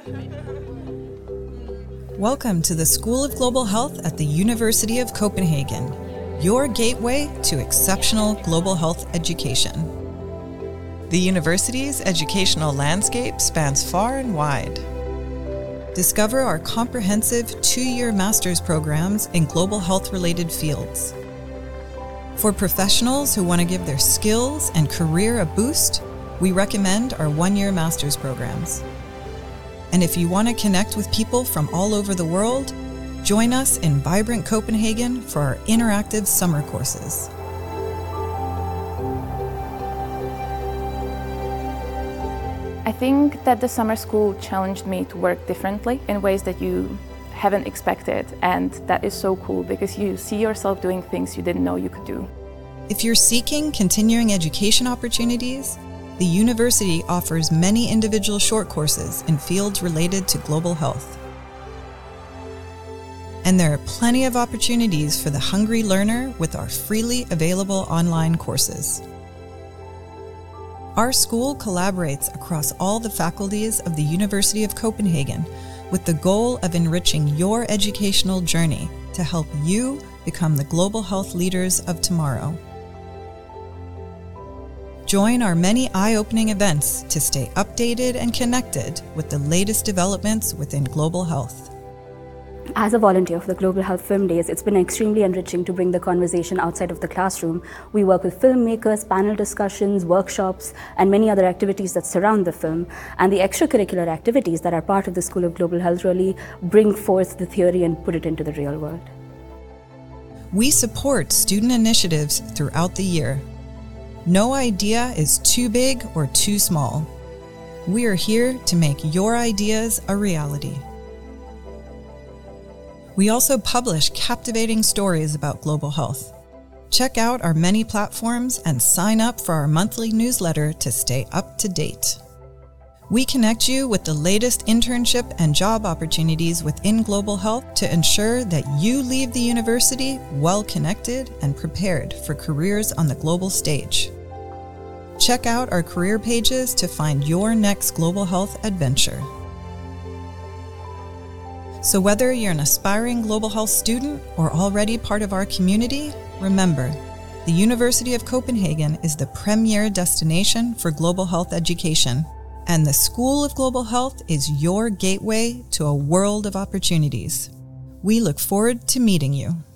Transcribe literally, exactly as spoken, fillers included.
Welcome to the School of Global Health at the University of Copenhagen, your gateway to exceptional global health education. The university's educational landscape spans far and wide. Discover our comprehensive two-year master's programs in global health-related fields. For professionals who want to give their skills and career a boost, we recommend our one-year master's programs. And if you want to connect with people from all over the world, join us in vibrant Copenhagen for our interactive summer courses. I think that the summer school challenged me to work differently in ways that you haven't expected, and that is so cool because you see yourself doing things you didn't know you could do. If you're seeking continuing education opportunities, the university offers many individual short courses in fields related to global health. And there are plenty of opportunities for the hungry learner with our freely available online courses. Our school collaborates across all the faculties of the University of Copenhagen with the goal of enriching your educational journey to help you become the global health leaders of tomorrow. Join our many eye-opening events to stay updated and connected with the latest developments within global health. As a volunteer for the Global Health Film Days, it's been extremely enriching to bring the conversation outside of the classroom. We work with filmmakers, panel discussions, workshops, and many other activities that surround the film. And the extracurricular activities that are part of the School of Global Health really bring forth the theory and put it into the real world. We support student initiatives throughout the year. No idea is too big or too small. We are here to make your ideas a reality. We also publish captivating stories about global health. Check out our many platforms and sign up for our monthly newsletter to stay up to date. We connect you with the latest internship and job opportunities within global health to ensure that you leave the university well connected and prepared for careers on the global stage. Check out our career pages to find your next global health adventure. So whether you're an aspiring global health student or already part of our community, remember, the University of Copenhagen is the premier destination for global health education, and the School of Global Health is your gateway to a world of opportunities. We look forward to meeting you.